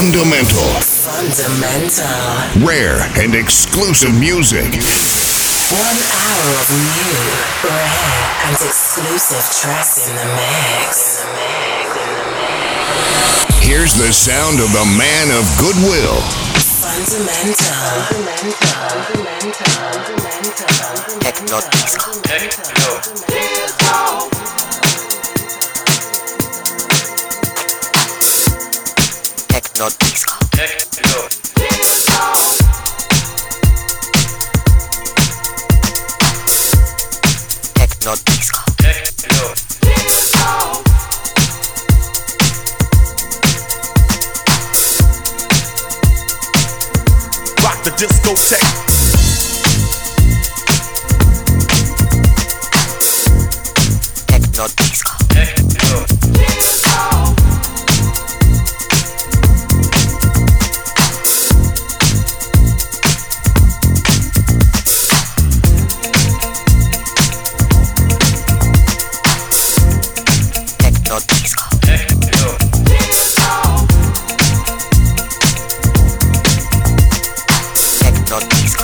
Fundamental. Fundamental. Rare and exclusive music. 1 hour of new, rare and exclusive tracks in the mix. Here's the sound of the man of goodwill. Fundamental. Techno disco. Techno disco. Techno disco. Rock the discotheque. Techno disco. Techno disco. Techno disco.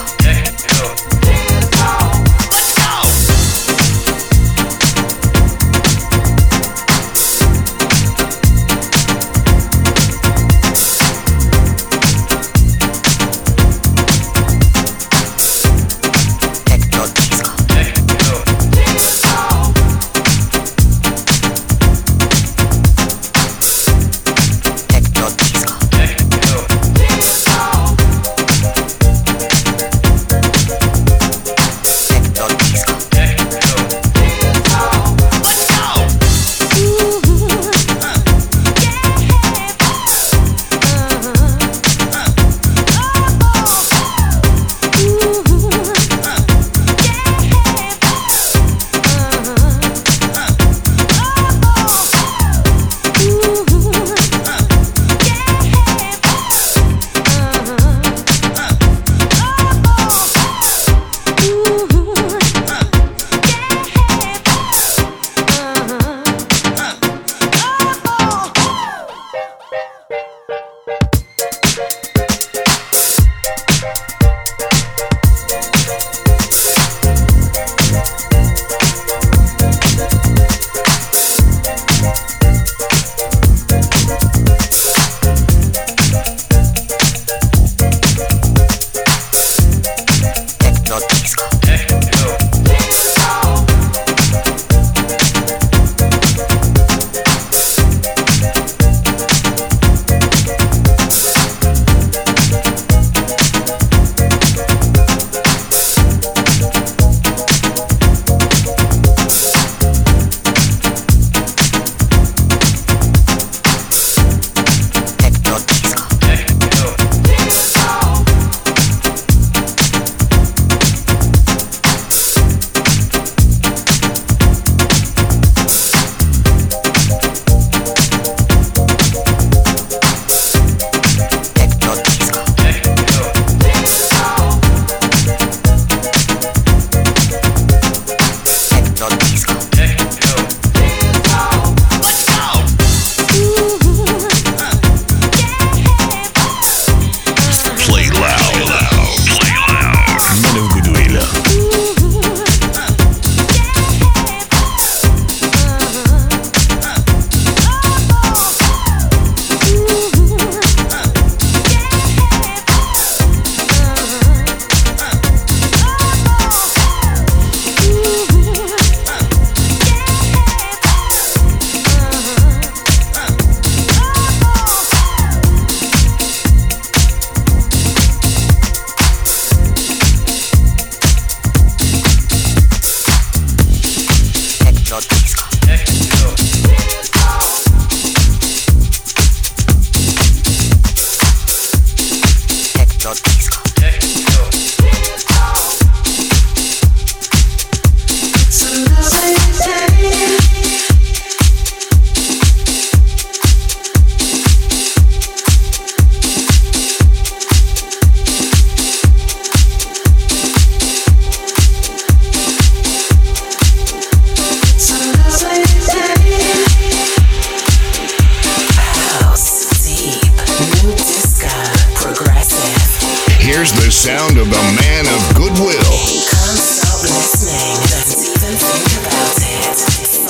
sound of the man of goodwill. Can't stop listening, don't even think about it.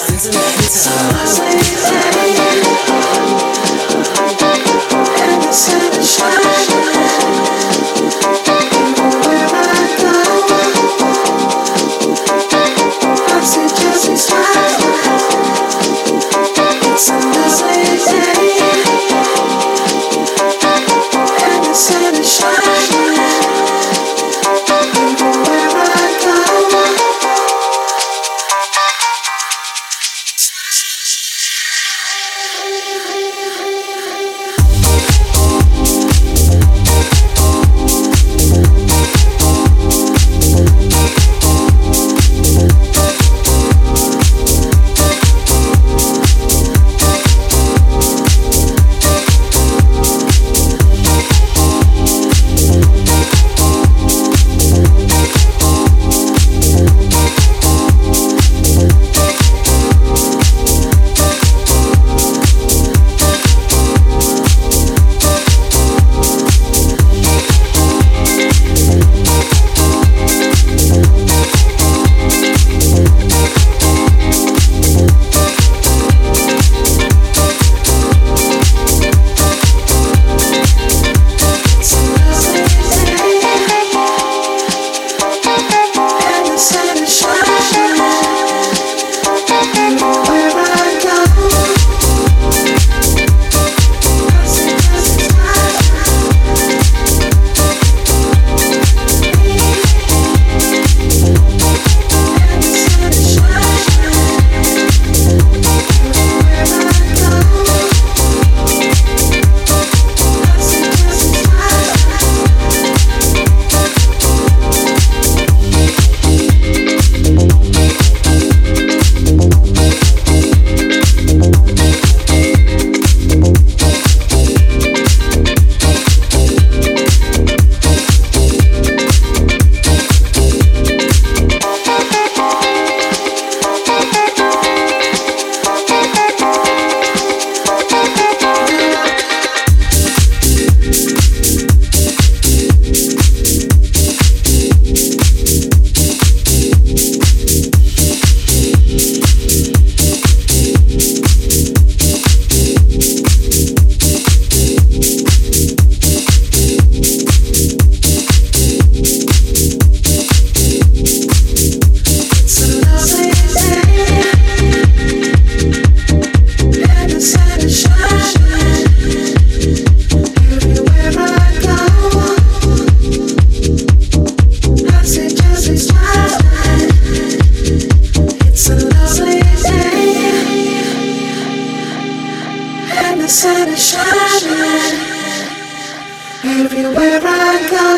Everywhere I go,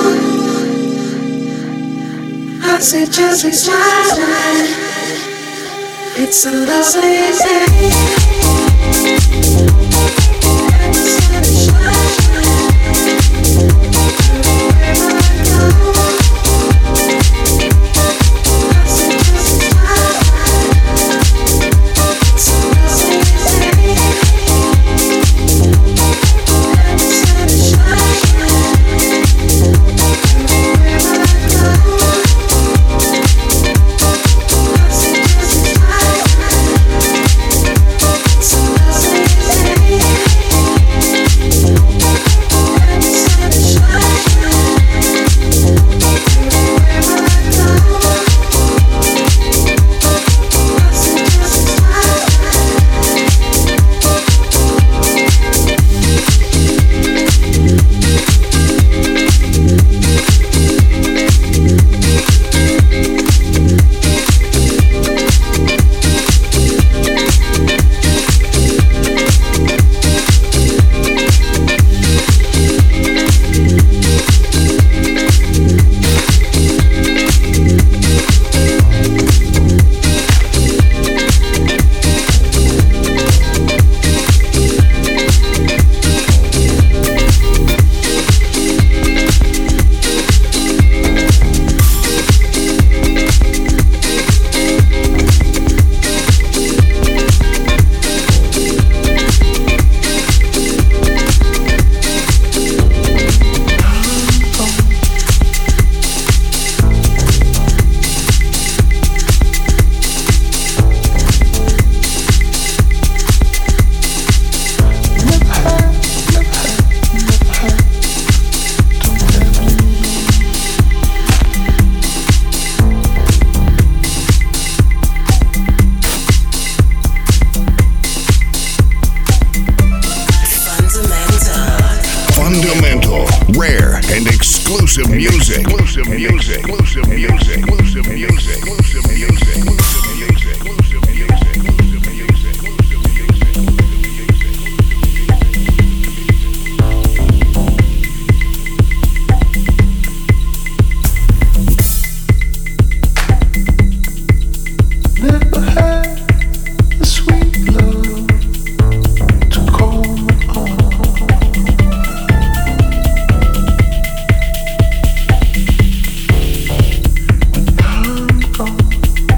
I see just be smiling. It's a lovely day. And the sun is shining. Everywhere I go, I see just be smiling. It's a lovely day. And the sun is shining. Everywhere I go, I see just be smiling. It's a lovely day. exclusive music. Exclusive music. Exclusive music. Exclusive music. Exclusive music. Exclusive music. Exclusive music. Never had the sweet love to call my own. When I'm gone,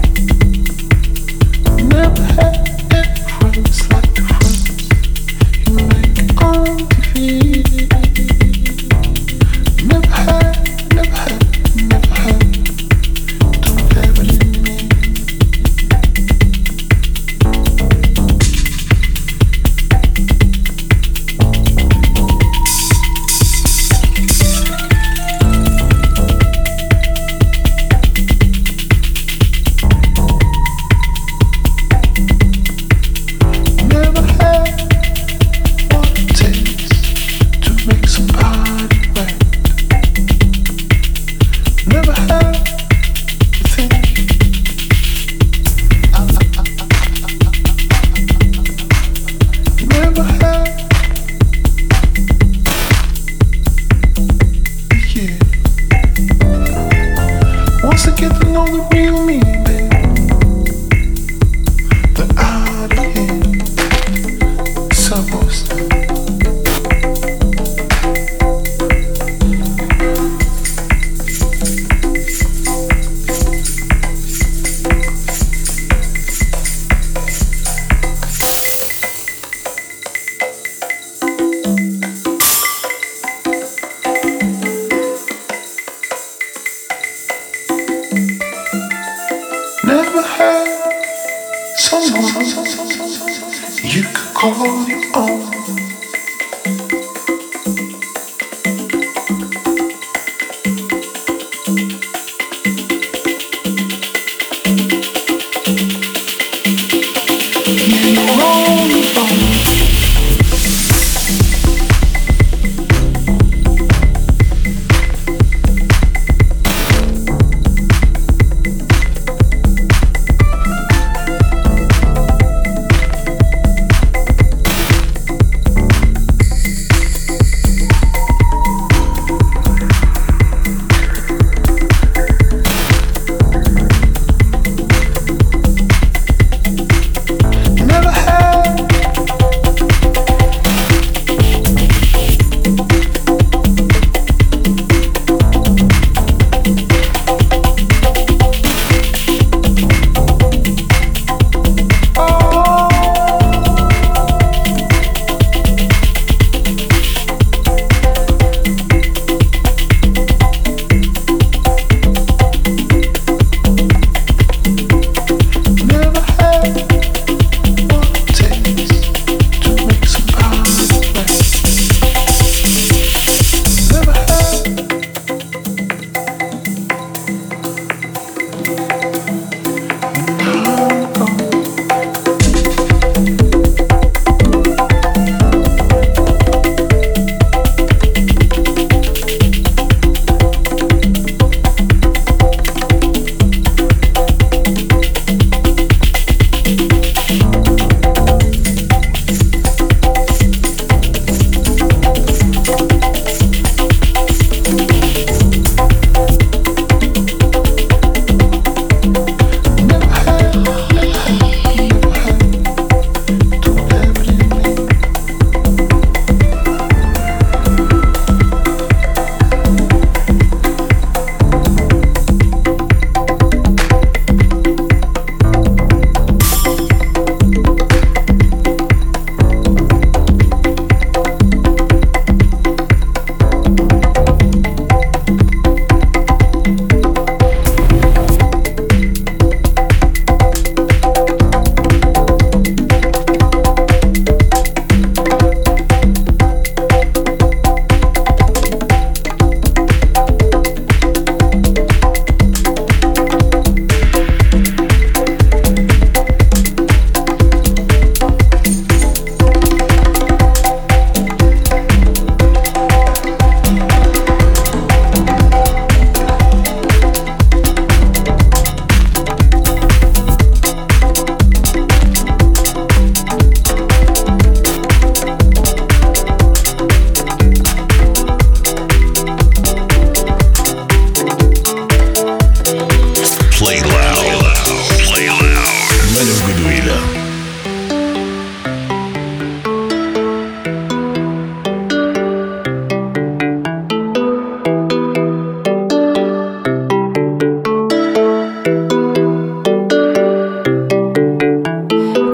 never had any friends like the friends you make on TV. Never had, never had, never had. Don't have it in me. Never had what it takes to make somebody right. Never had the thing. Never had the year. Once I get to know the real me, baby, the out of here, supposed to. Never had someone you could call your own. You're all alone. Never had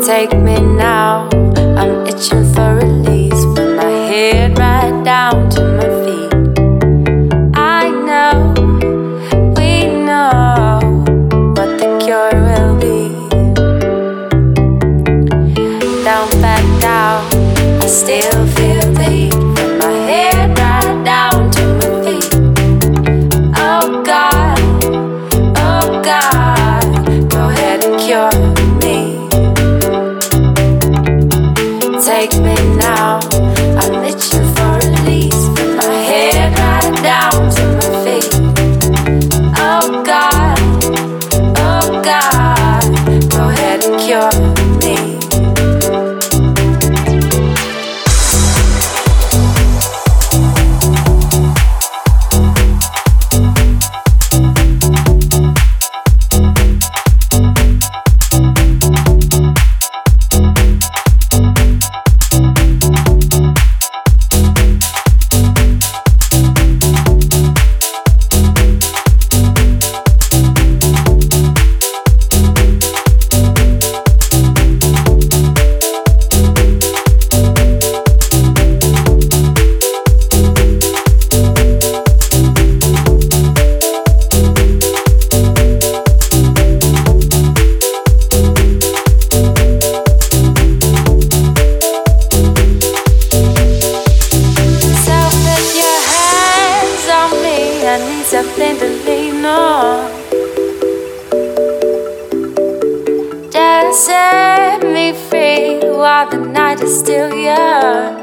Take me now, I'm itching for release. From my head right down to my feet. I know, we know what the cure will be. Down, back down, I still feel the heat. From my head right down to my feet. Oh God, go ahead and cure me. Take me now, I'm itching for release. From my head right down to my feet. Oh God, go ahead and cure me. Something to lean on. Just set me free while the night is still young.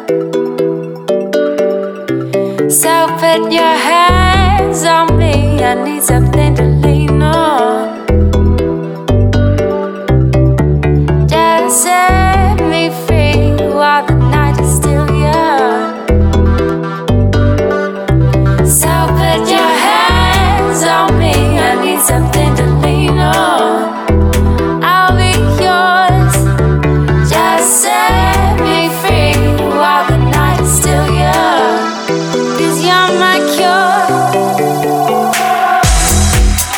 So put your hands on me, I need something to lean on. Just set me free while the night is still young. So put your hands on me, I need something to lean on. I'll be yours, just set me free while the night is still young. 'Cause you're my cure.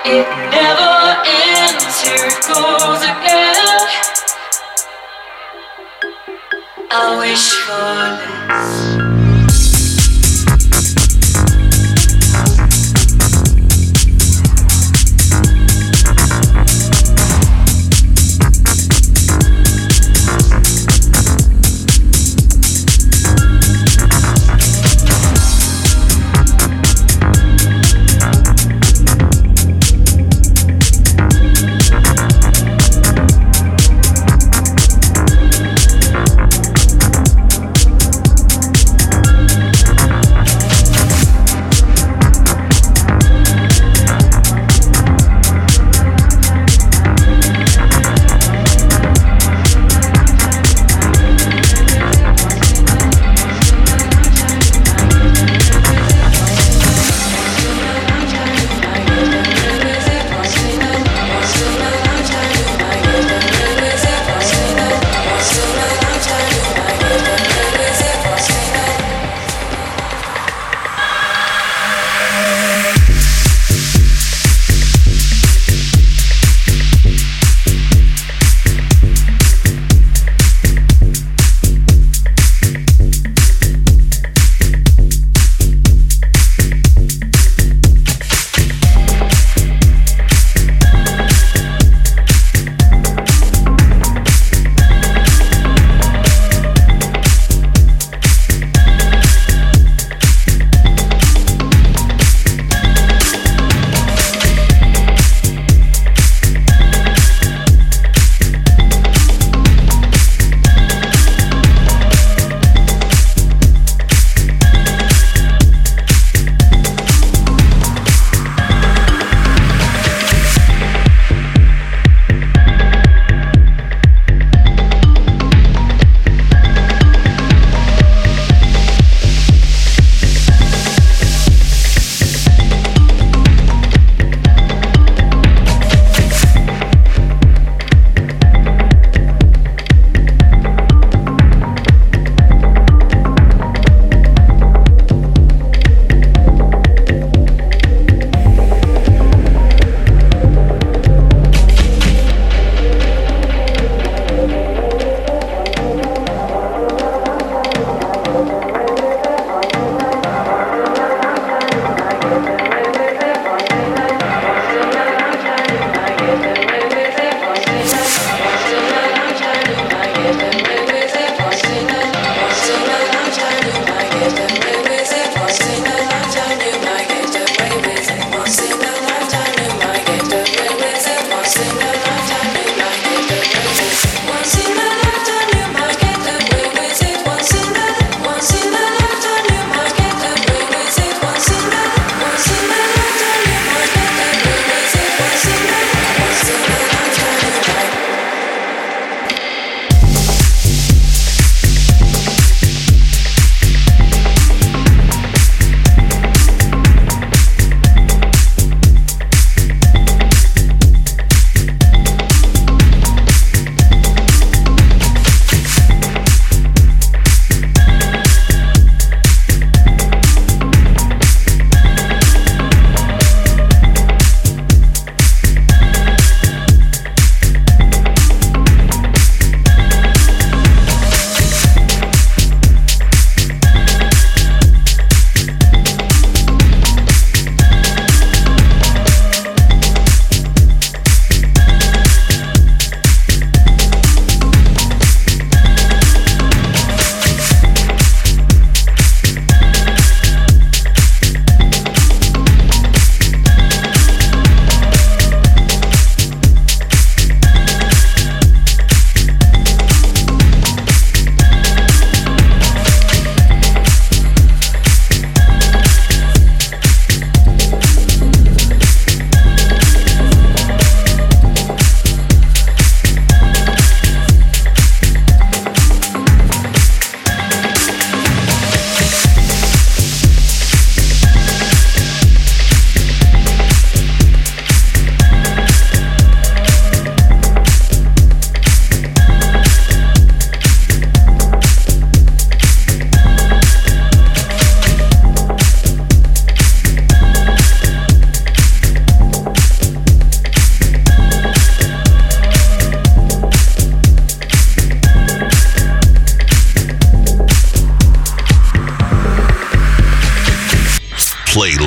It never ends, here it goes again. I wish for this.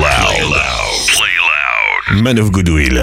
loud. Play loud. Man of Goodwill.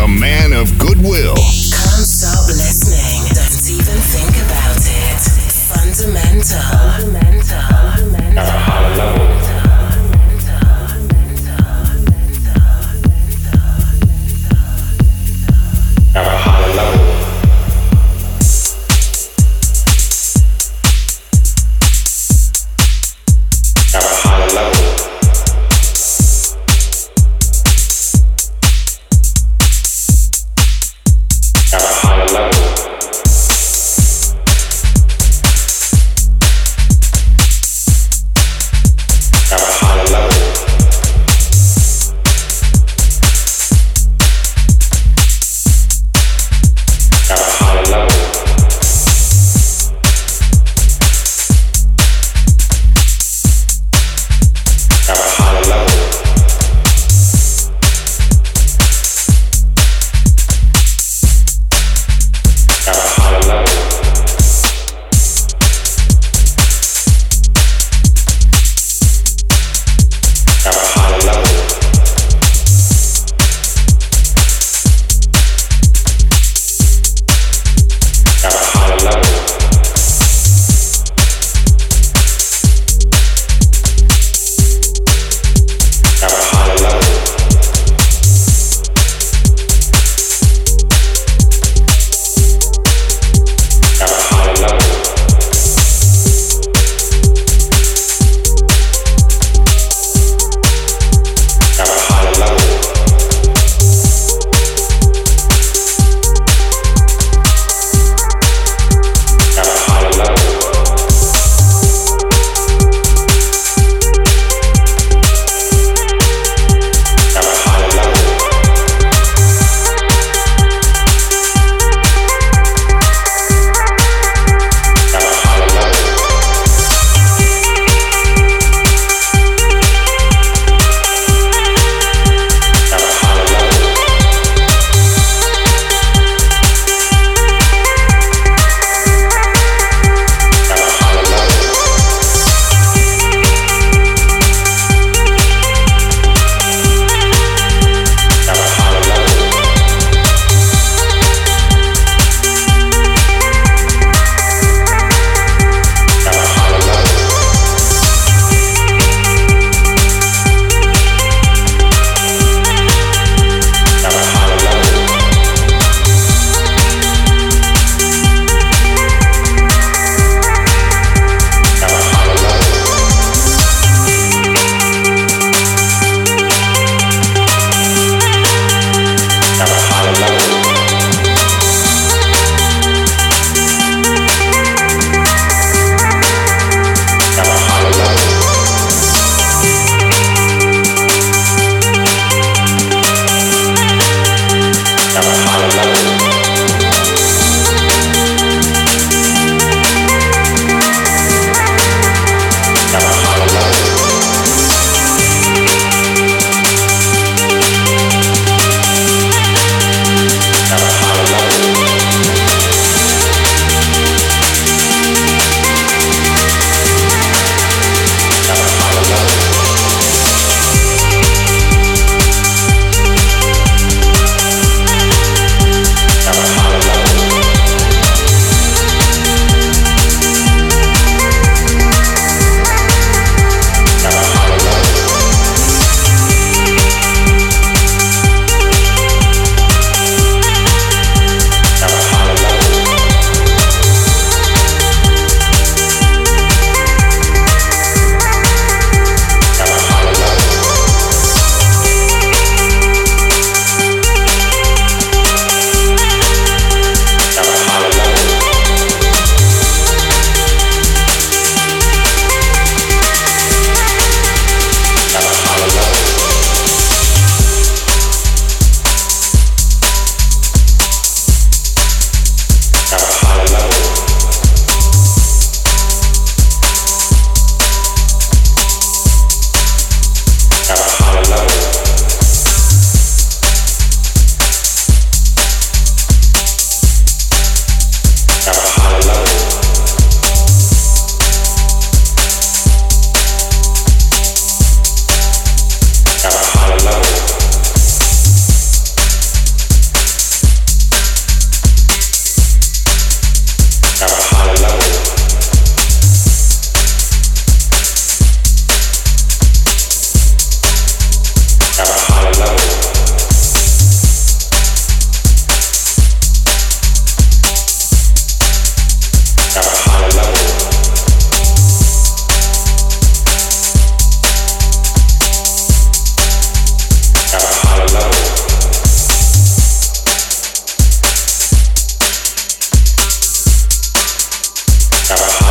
the man of goodwill. Can't stop listening. Don't even think about it. Fundamental. At a higher level. At a higher level. At a higher level.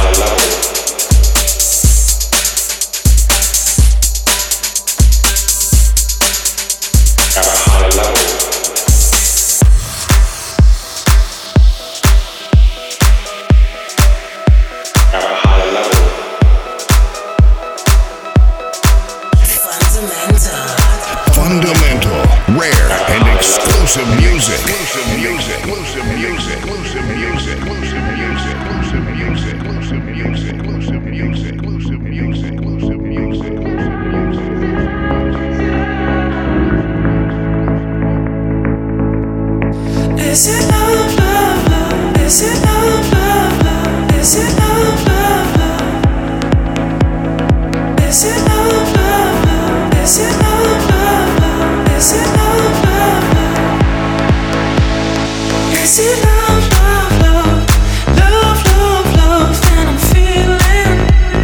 Fundamental, rare, and exclusive music. Exclusive music. Exclusive music. Exclusive music. Exclusive music. Exclusive music. Exclusive music. Exclusive music. Exclusive music. Exclusive music. Is it love, love, love? Is it love, love, love? Is it love, love, love? Is it love, love, love? Is it love, love, love? Is it love, love, love? Is it love, love, love? Love, love, love that I'm feeling?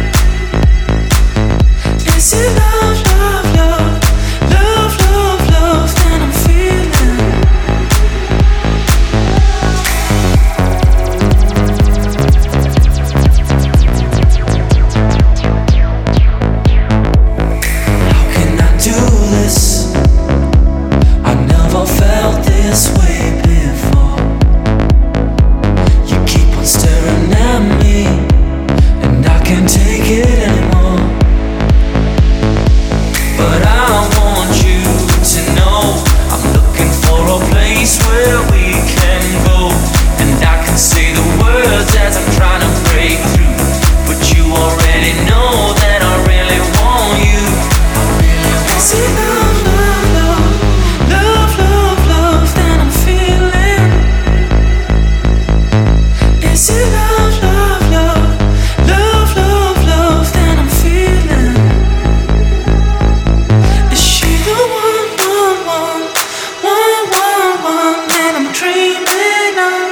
Is it love, love, love? Love, love, love that I'm feeling? How can I do this? I never felt this way before. You keep on staring at me, and I can't take it anymore. But I want you to know I'm looking for a place where we can go, and I can say the words as I'm trying to break through. But you already know that I really want you. Is it love, love, love? Love, love, love that I'm feeling? Is it love, love, love? Love, love, love that I'm feeling? Is she the one, one, one, one, one, one that I'm dreaming of?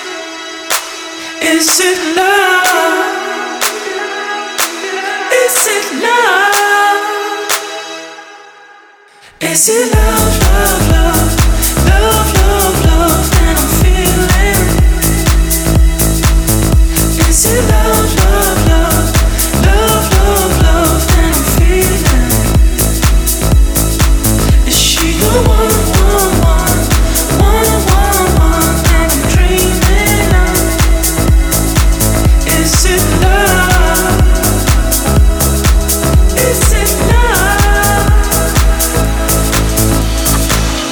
Is it love? Is it love? Is it love, love, love? Love, love, love that I'm feeling? Is it love, love, love? Love, love, love that I'm feeling? Is she the one, one, one, one, one, one that I'm dreaming of? Is it love? Is it love?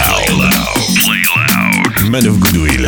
loud. Man of Goodwill.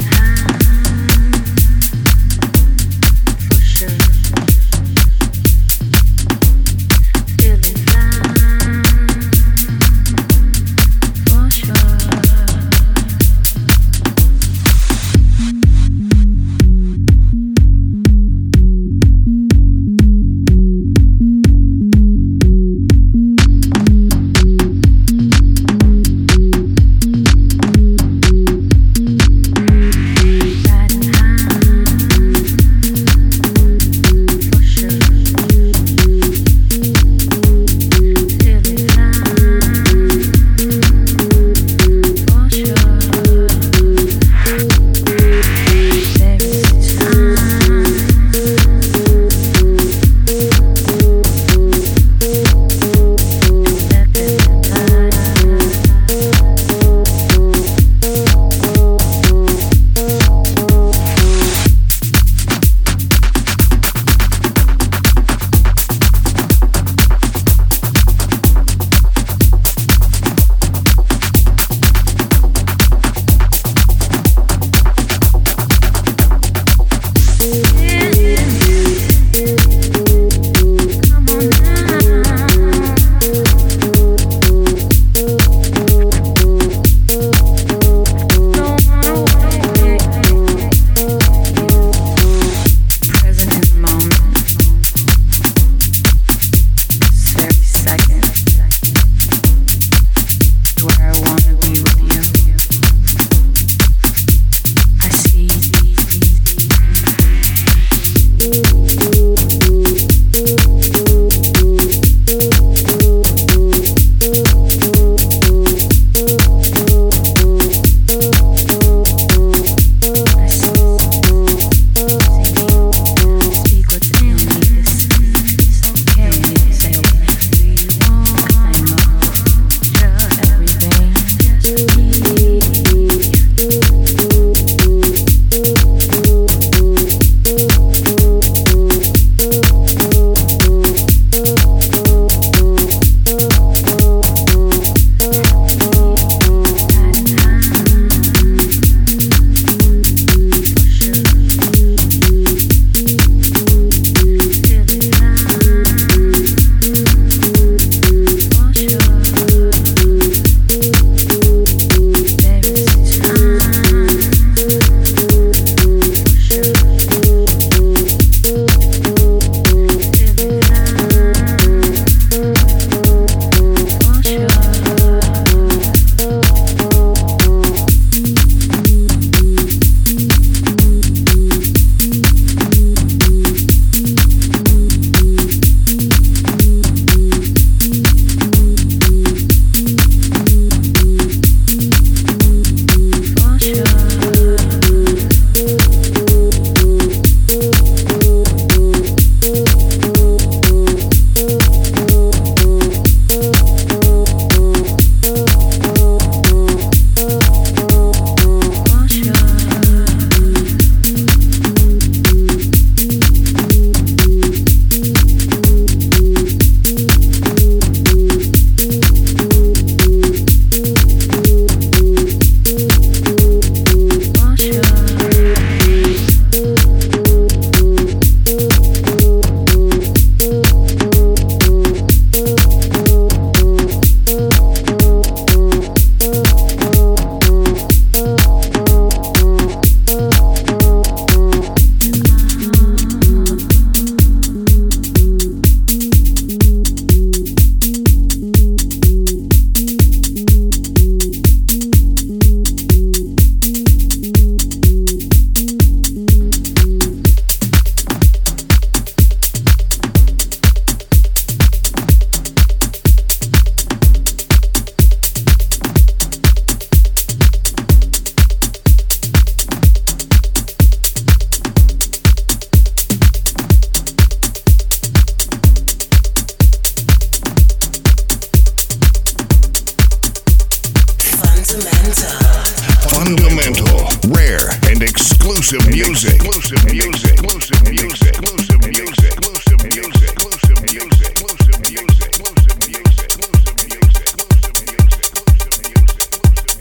Fundamental, rare, and exclusive music. Exclusive music. Exclusive music. Exclusive music. Exclusive music. Exclusive music. Exclusive music. Exclusive music. Exclusive music. Exclusive music. Exclusive music.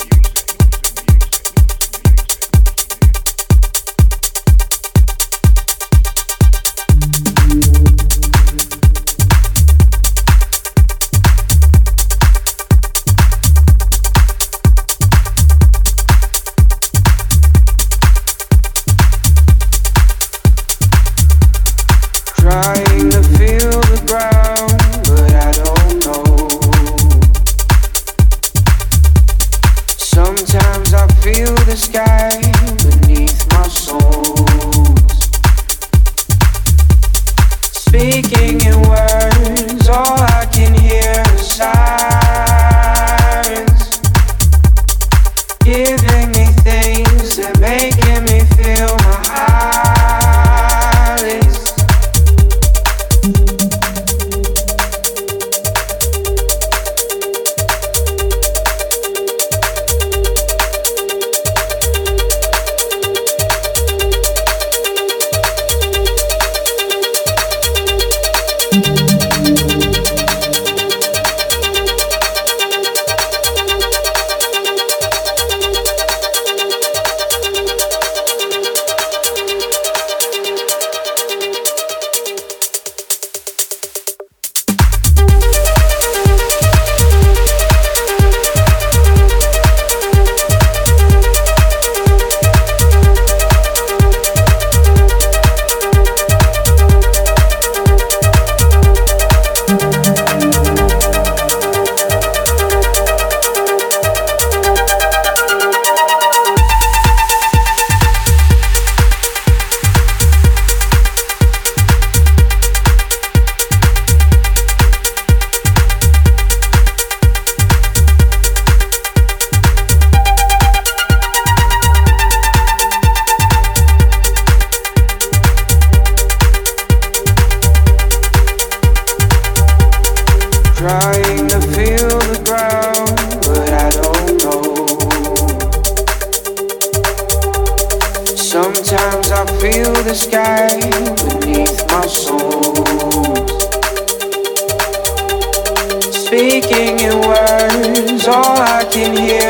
Sometimes I feel the sky beneath my soles. Speaking in words, all I can hear is sirens, giving me things that making me feel my eyelids. Trying to feel the ground, but I don't know. Sometimes I feel the sky beneath my soles. Speaking in words, all I can hear